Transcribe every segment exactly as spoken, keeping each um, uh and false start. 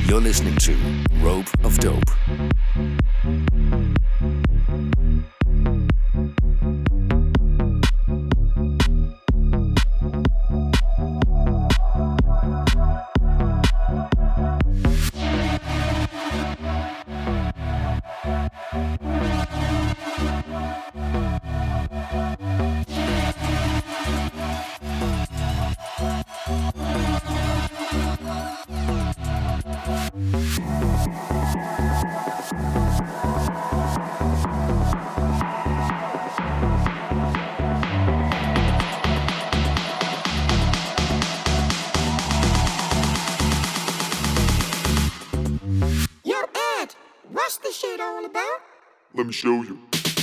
You're listening to Rope of Dope. Let me show you.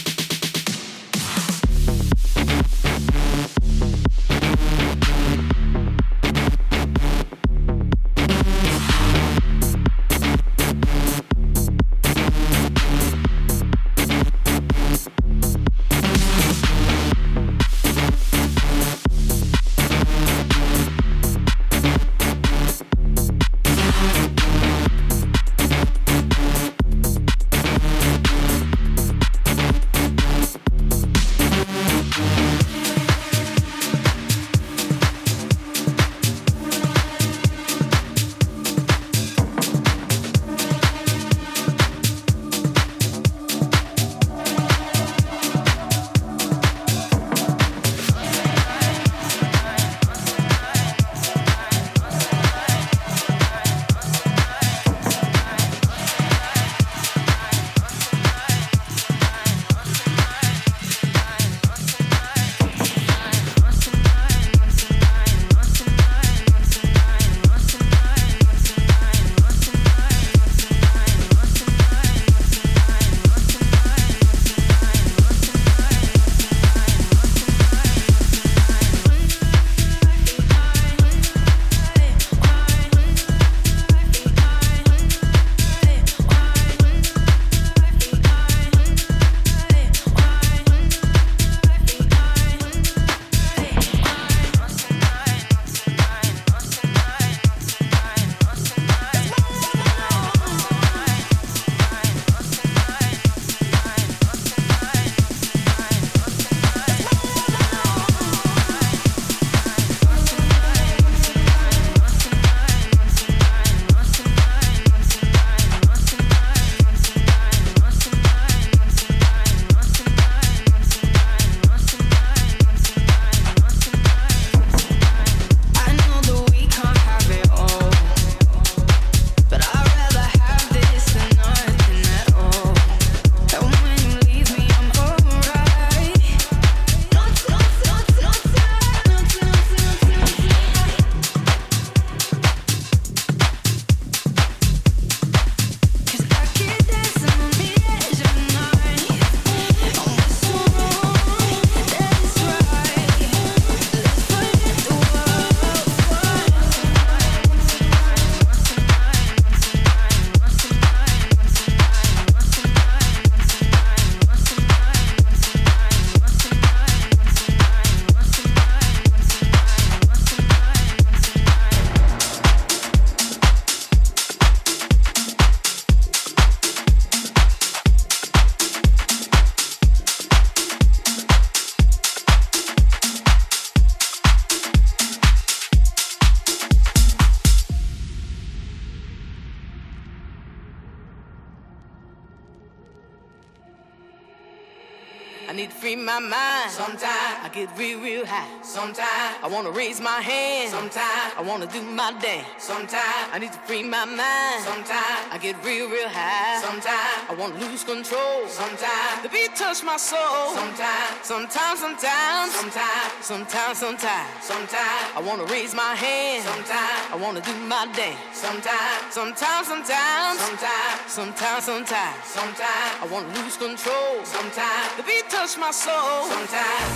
I need to free my mind. Sometimes I get real, real high. Sometimes I wanna raise my hand. Sometimes I wanna do my dance. Sometimes I need to free my mind. Sometimes I get real, real high. Sometimes I wanna lose control. Sometimes the beat touch my soul. Sometimes, sometimes, sometimes, sometimes, sometimes, sometimes, sometimes I wanna raise my hand. Sometimes I wanna do my dance. Sometimes, sometimes, sometimes, sometimes, sometimes, sometimes, sometimes I wanna lose control. Sometimes the beat touch my soul. Sometimes,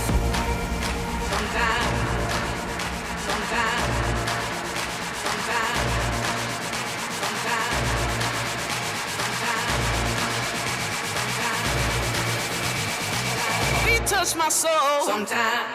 sometimes, sometimes, sometimes, sometimes, sometimes, the beat touch my soul. Sometimes.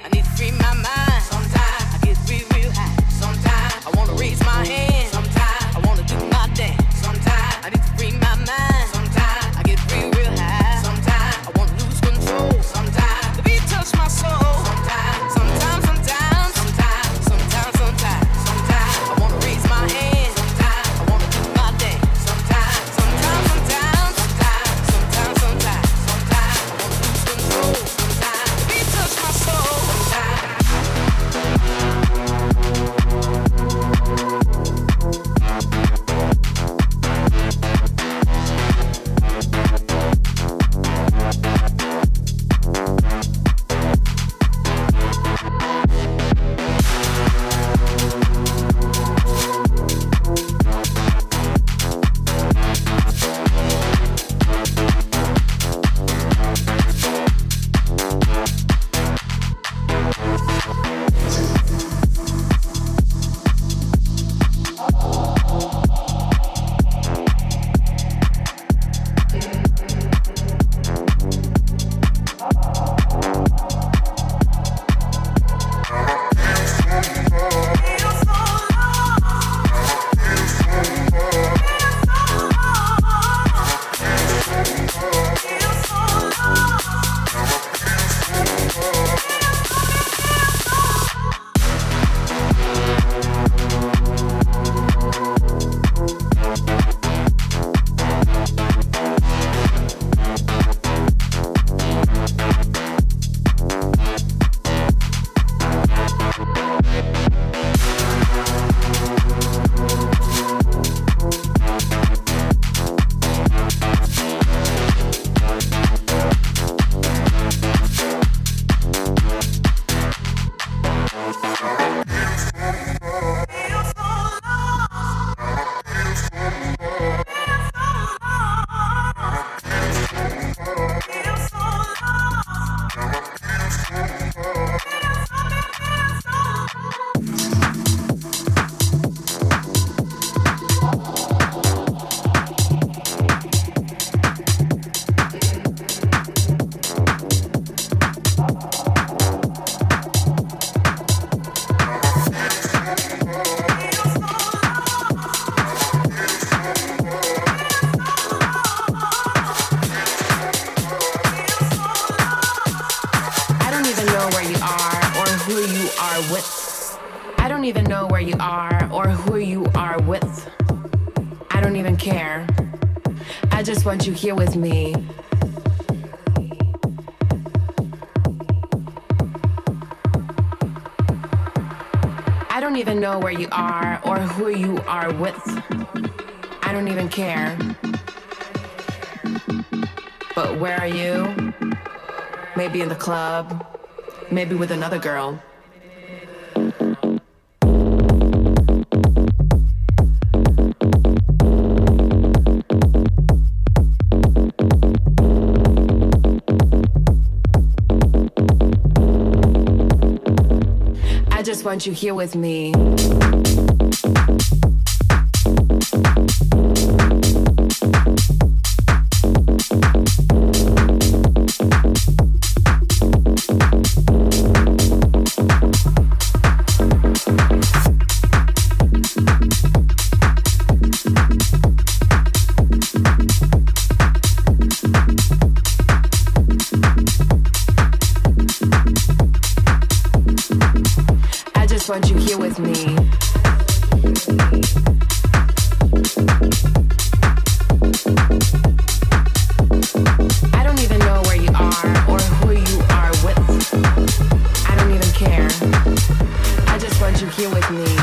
I need to free my mind. Sometimes I get real, real high. Sometimes I wanna raise my hand. Sometimes I wanna do my dance. Sometimes I need to free my mind. Sometimes I get real, real high. Sometimes I wanna lose control. Sometimes the beat touch my soul. Sometimes, sometimes, sometimes, sometimes, sometimes, sometimes, sometimes I wanna raise my hand. Sometimes I wanna do my dance. Sometimes, sometimes, sometimes, sometimes, sometimes, sometimes, sometimes I wanna lose control. Sometimes the beat touch my soul. Sometimes. You here with me. I don't even know where you are or who you are with. I don't even care. But where are you? Maybe in the club, maybe with another girl. I just want you here with me. Want you here with me. I don't even know where you are or who you are with. I don't even care. I just want you here with me.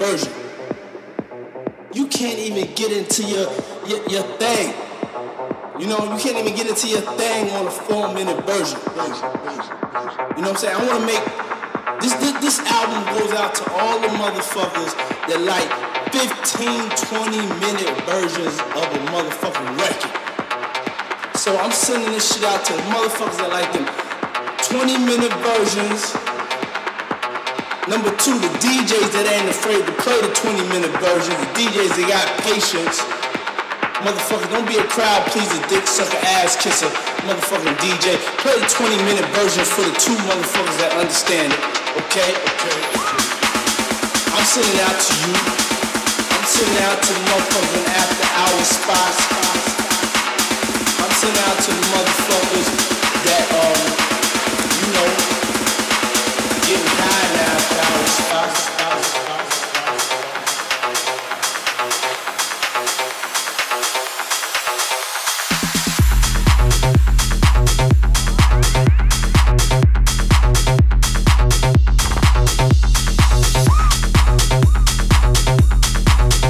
Get into your, your your thing. You know, you can't even get into your thing on a four minute version. You know what I'm saying? I wanna make, this, this, this album goes out to all the motherfuckers that like fifteen, twenty minute versions of a motherfucking record. So I'm sending this shit out to the motherfuckers that like them twenty minute versions. Number two, the D Js that ain't afraid to play the twenty minute version. The D Js that got patience. Motherfucker, don't be a crowd pleaser, dick sucker, ass kisser, motherfucking D J. Play the twenty minute version for the two motherfuckers that understand it. Okay? Okay. I'm sending it out to you. I'm sending it out to the motherfuckers in after hour spots. I'm sending it out to the motherfuckers that, um, you know, getting high in after hour spots.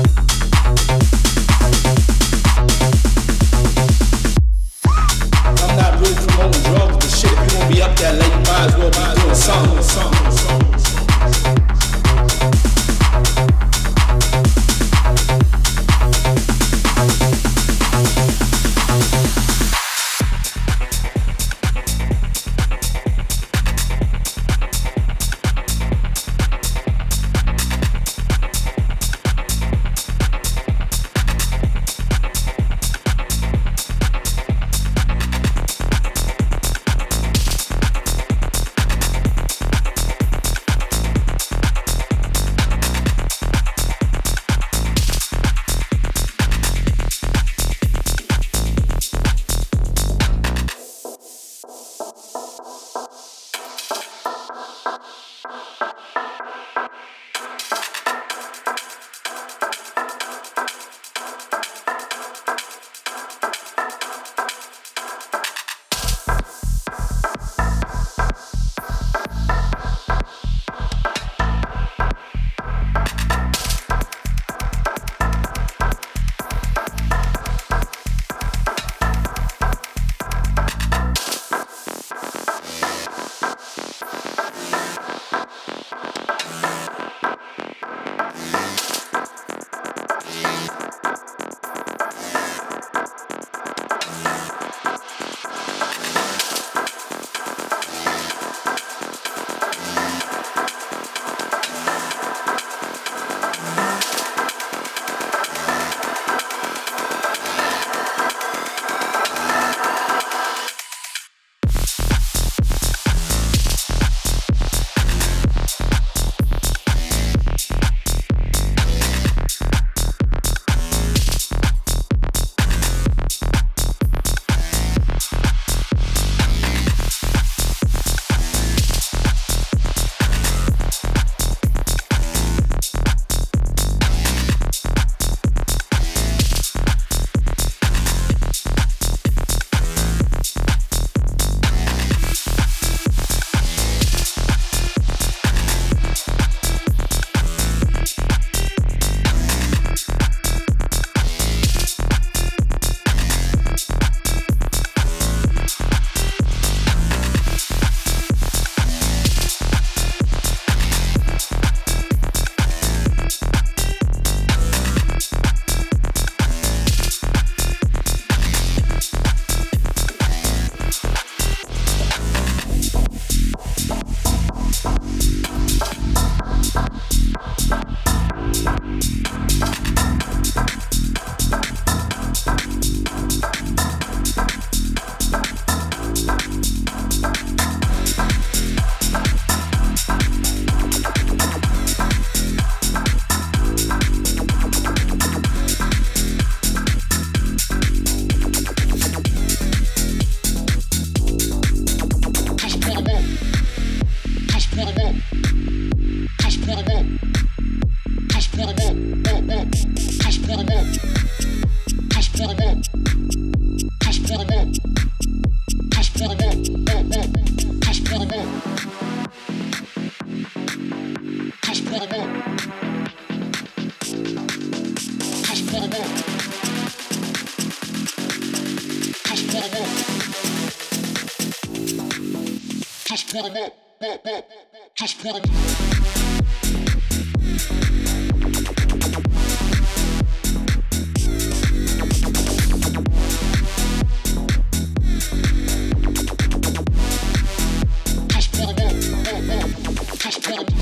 I'm Just put 'em up, up, up. Just put 'em up. Just put 'em up, up, up. Just put 'em up.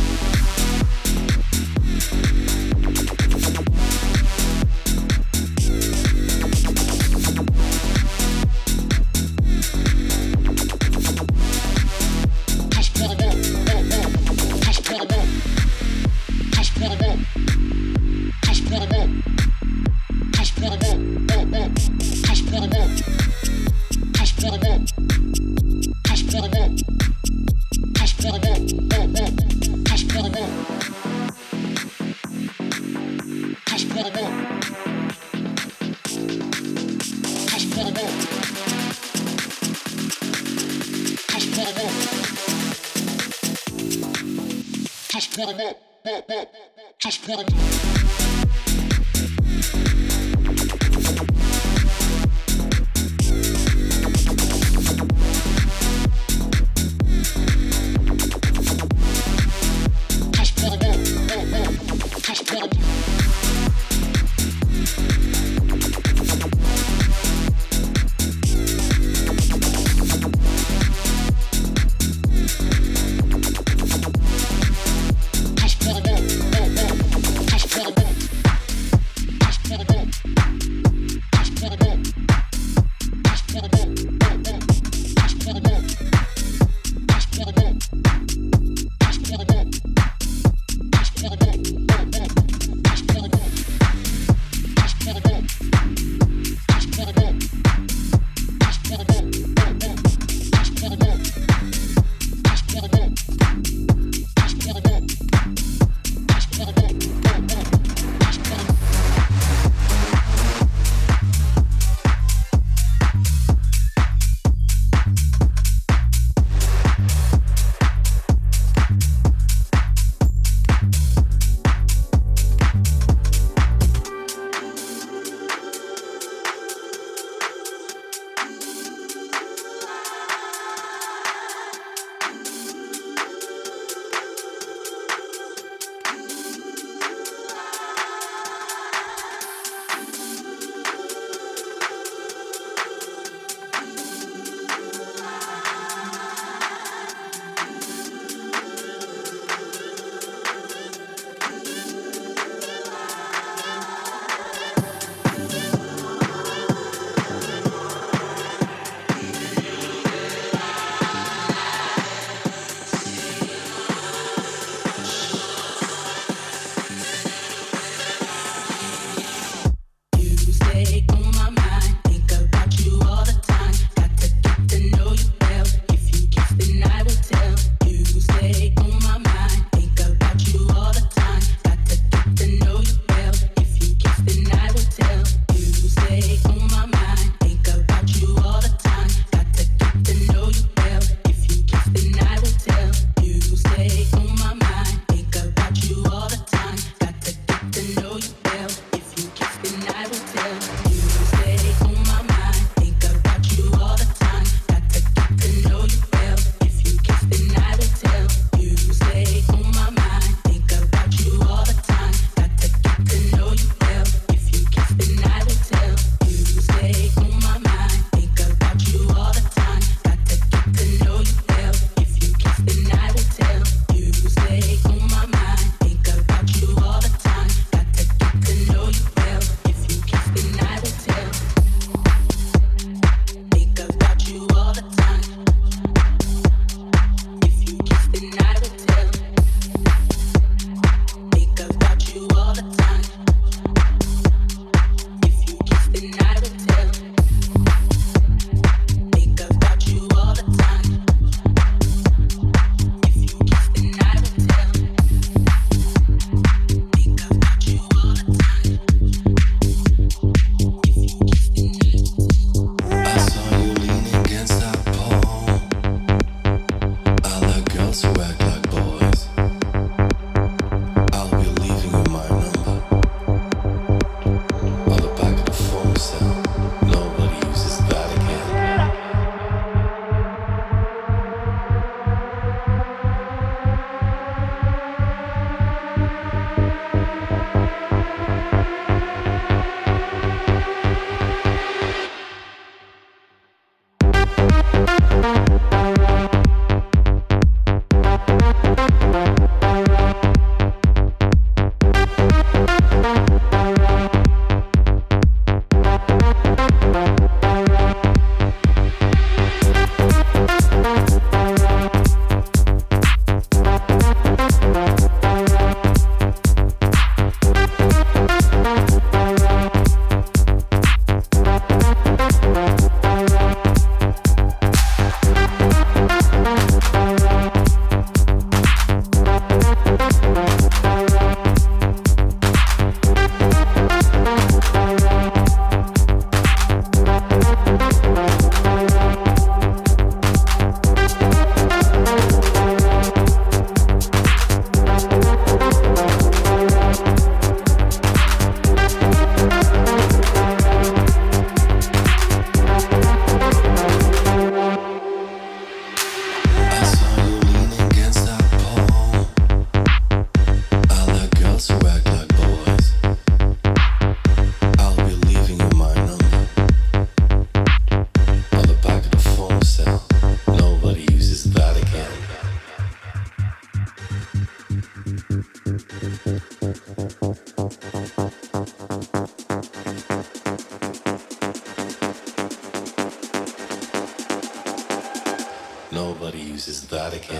Just put 'em up, up, up. Just put 'em up. Just put 'em up, up, up. Just put 'em up. Just put 'em up, up, up. Just put 'em up. Nobody uses that again.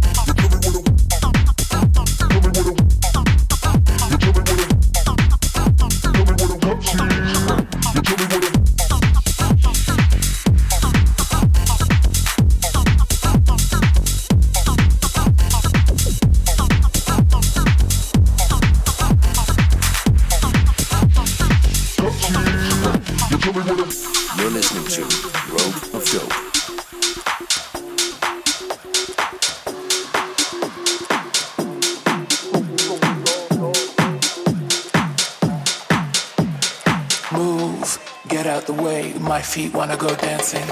You're listening to Rope of Dope. Move, get out the way, my feet wanna go dancing.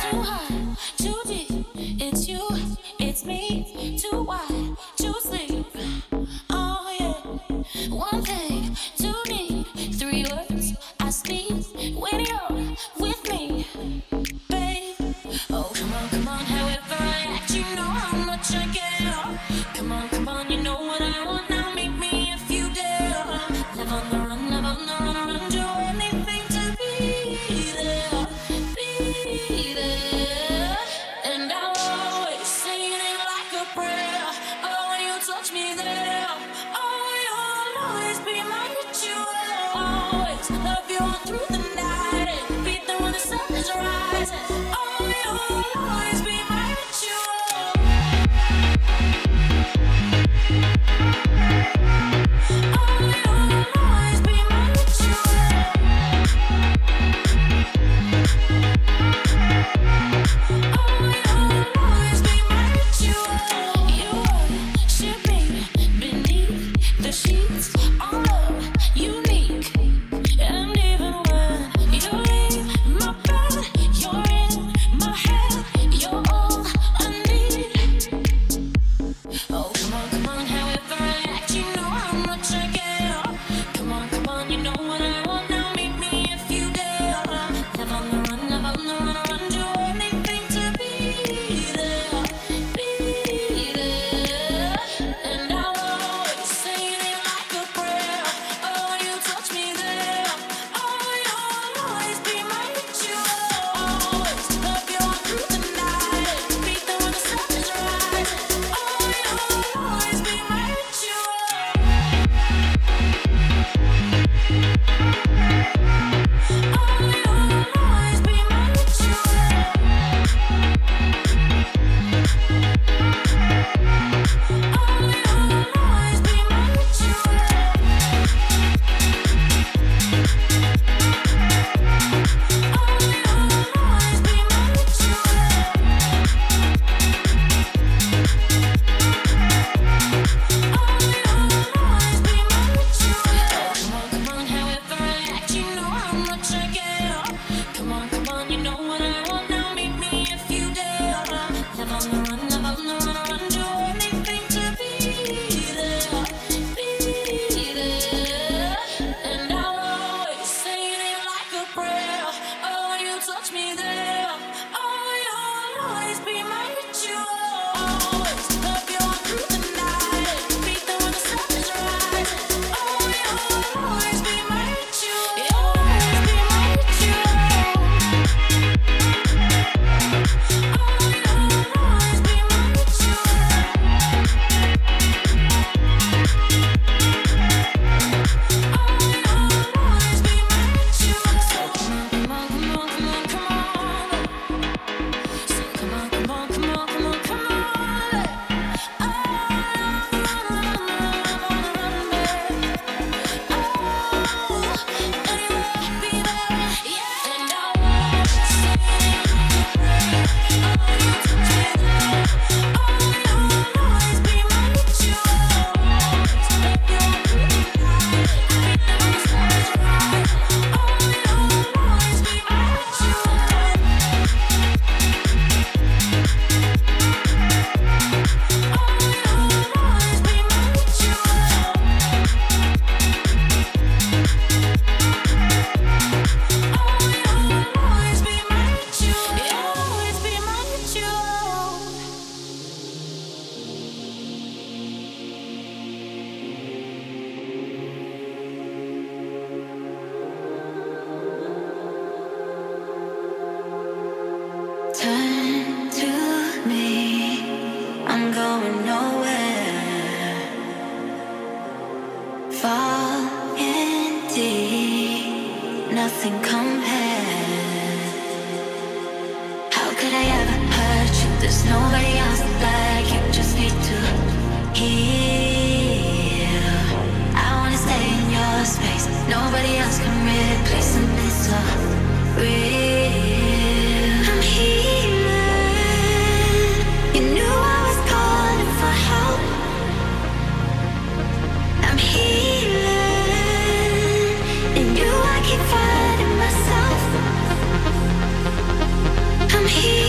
I'm here.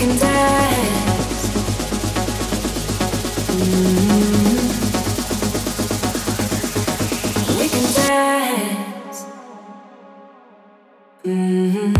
can dance. Mm-hmm. We can dance. Mm-hmm.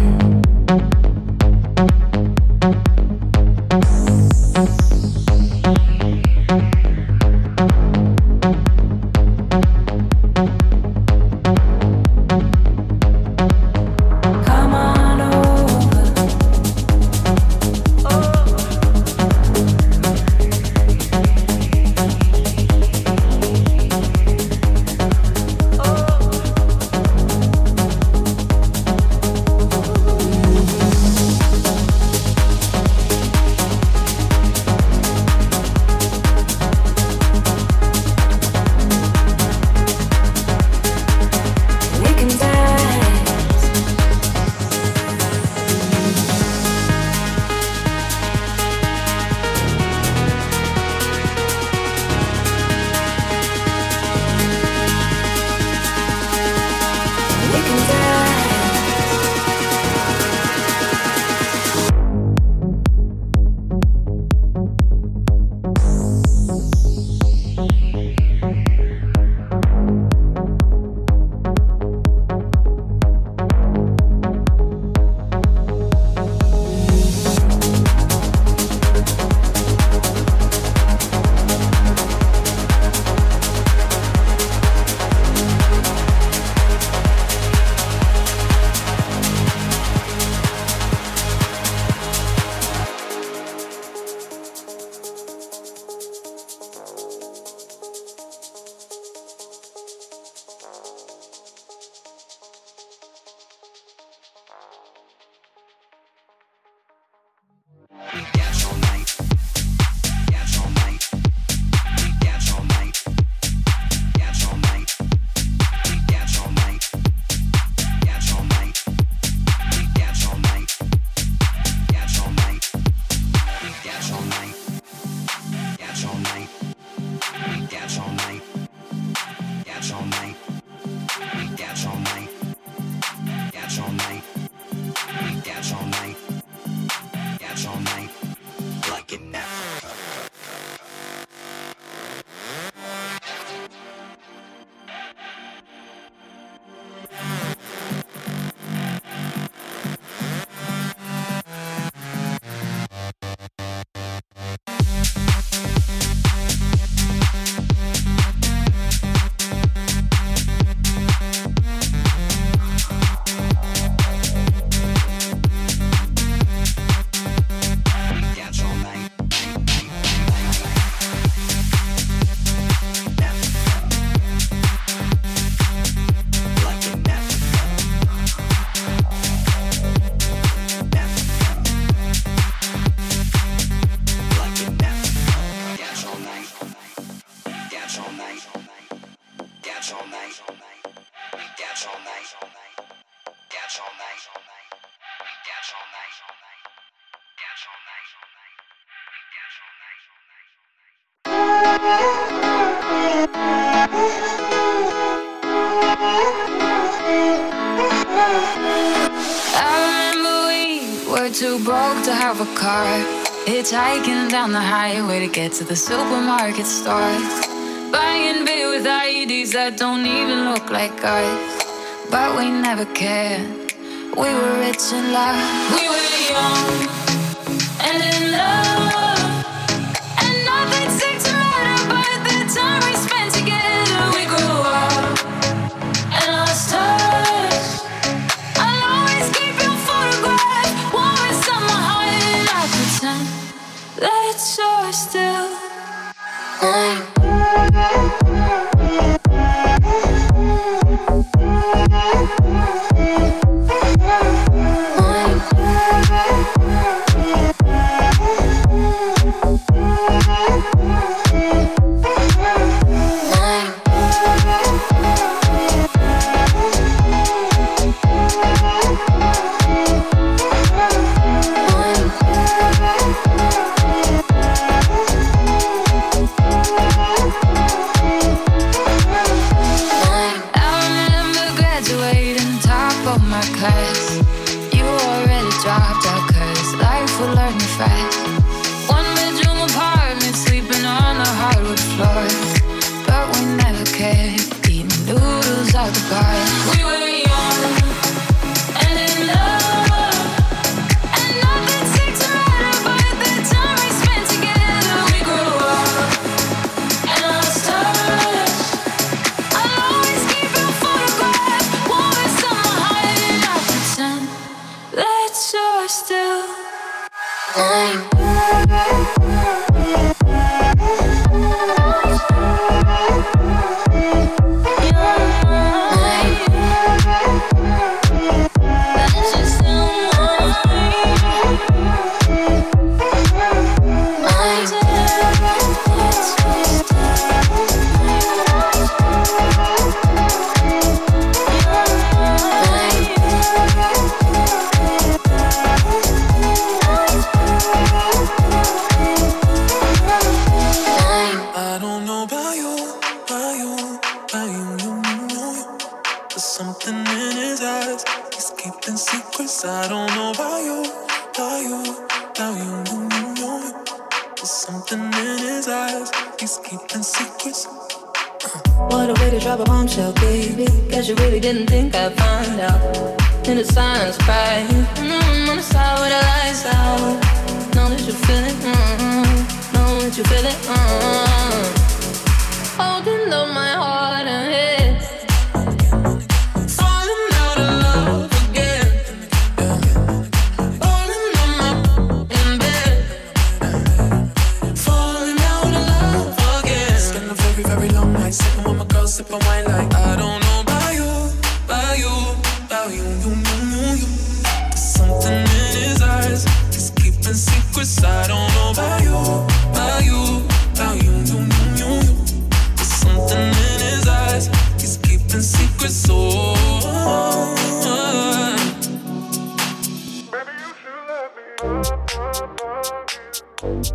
Too broke to have a car, hitchhiking down the highway to get to the supermarket stores, buying beer with I E Ds that don't even look like us. But we never cared. We were rich in love. We were young and in love, and nothing seemed to matter. But the time we spent together, we grew up and lost touch. I'll always keep your photograph warm inside my heart, and I pretend that you're still mine. Class, you already dropped out, cause life will learn you fast. why you, why you, why you, you, you, you. There's something in his eyes. He's keeping secrets. I don't know why you, why you, why you, you, you, you. There's something in his eyes. He's keeping secrets. What a way to drop a bombshell, baby. Guess you really didn't think I'd find out. In the silence, cry. Mm-hmm, on the side with the lights out. Know that you feel it. Mm-hmm. Know that you feel it. Mm-hmm. Holding on my heart and head. Falling out of love again. Falling on my in bed. Falling out of love again. Spend a very, very long night sitting with my girl, sipping wine like I don't know about you, about you, about you, you, you, you, you. There's something in his eyes. He's keeping secrets. I don't know about you, about you, about you, you, you, you, you. There's something in his eyes. He's keeping secrets. So. Oh, Baby, you should let me love, love,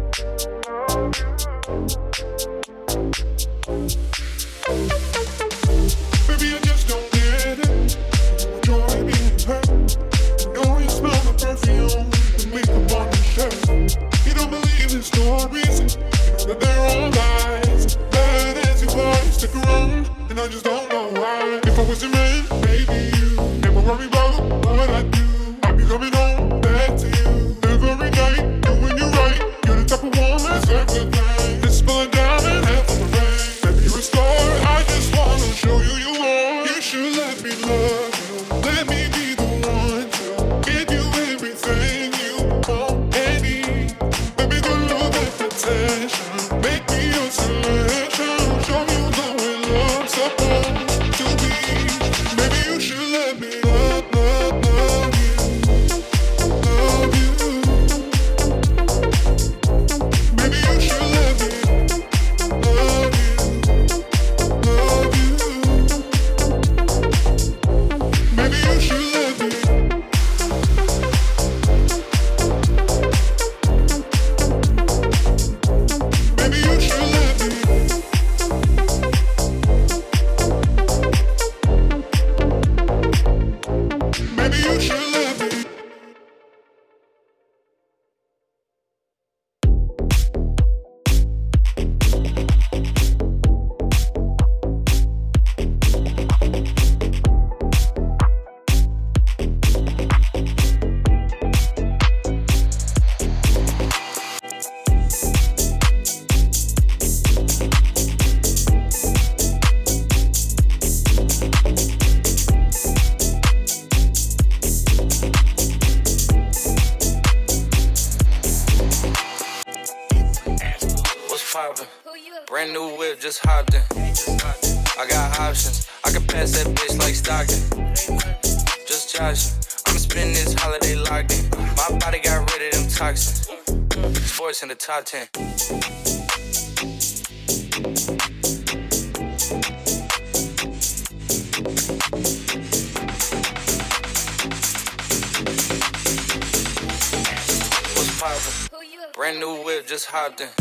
baby, I just don't get it. You enjoy being hurt. You know you smell the perfume, the makeup on your shirt. You don't believe in stories. You know that they're all lies. Bad as you are, you stick around, and I just don't know why. If I was your man, maybe you never worry about what I do. I'll be coming home back to you every night, doing you right. You're the type of woman that's a thing. This spilling down and half of the rain. Baby, you're a star. I just wanna show you you are. You should let me love you. Let me be the one to give you everything you want and need. Baby, good love and attention. Make me your selection. Show you the way love's supposed to be. Baby, you should let me love, love, love you. Love you. Baby, you should let me love you. Love you. Baby, you should let me. Baby, you should let me. Baby, you should let me. What's poppin'? Brand new whip, just hopped in. I got options. I can pass that bitch like Stockton. Just joshin'. I'ma spend this holiday locked in. My body got rid of them toxins. Sports in the top ten. What's poppin'? Brand new whip, just hopped in.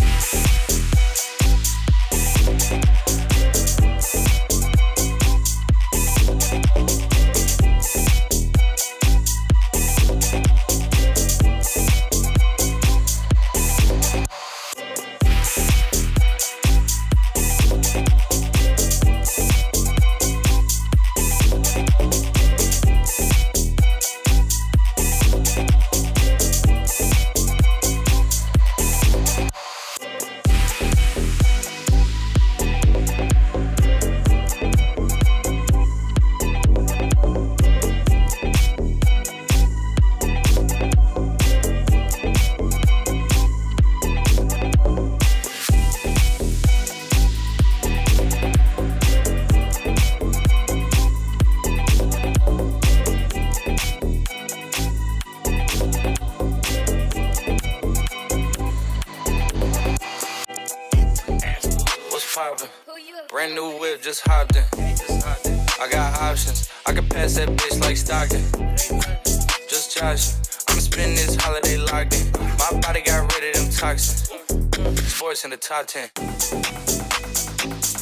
poppin'. Brand new whip, just hopped in. I got options. I can pass that bitch like Stockton. Just joshin'. I'ma spend this holiday locked in. My body got rid of them toxins. Sports in the top ten.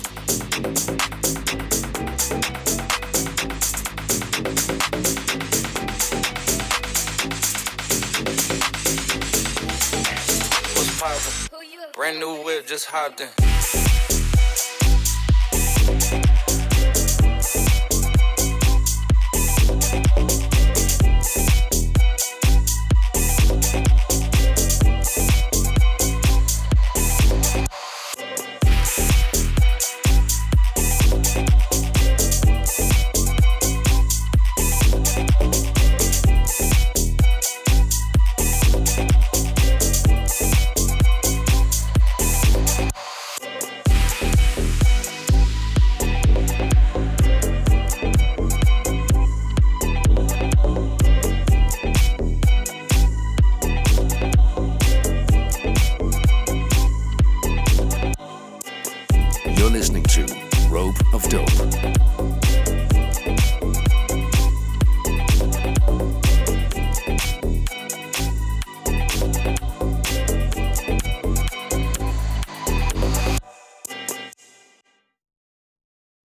Brand new whip, just hopped in.